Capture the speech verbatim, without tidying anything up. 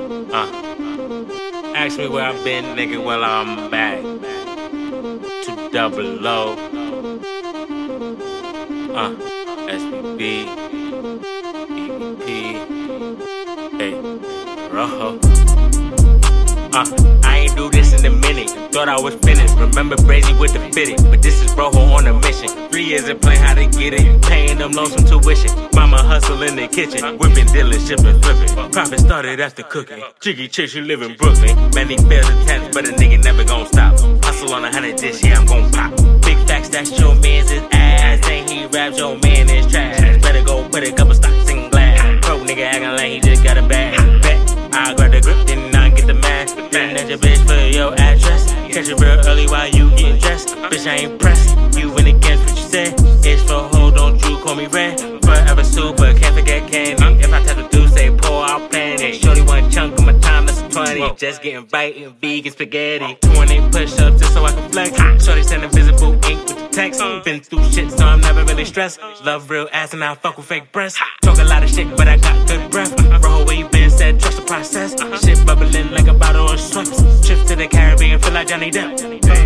Uh, ask me where I've been, nigga, well, I'm back. To double O. Uh, S B B. E B P. Hey, Rojo. Uh, I ain't do this in a minute. Thought I was finished. Remember Brazy with the fitted. But this is Rojo on a mission. Three years of playing how to get it. Paying them lonesome tuition. Mama hustle in the kitchen. Whipping, dealing, shipping, flipping. Profit started after cooking. Jiggy chicks, you live in Brooklyn. Many failed attempts, but a nigga never gon' stop. Hustle on a hundred this year, I'm gon' pop. Big facts, that's your man's his ass. Saying he raps, your man is trash. Better go put a couple stocks in glass. Broke nigga acting like he just got a bag. Bet I grab the grip, then I get the man. Then at your bitch for your address. Catch it real early while you getting dressed. Bitch, I ain't pressed. You went against what you said. It's for hoe, don't you call me red. Forever super, can't forget candy. If I tell the dude, say pour, I'll plan it. Shorty one chunk of my time, that's a twenty. Just getting biting, vegan spaghetti. twenty push-ups just so I can flex. Shorty send invisible ink with the text. Been through shit, so I'm never really stressed. Love real ass and I fuck with fake breasts. Talk a lot of shit, but I got good breath. Roll where you been, said trust the process. Shit bubbling like a bottle of Schweppes. Trips to the Caribbean, feel like Johnny Depp.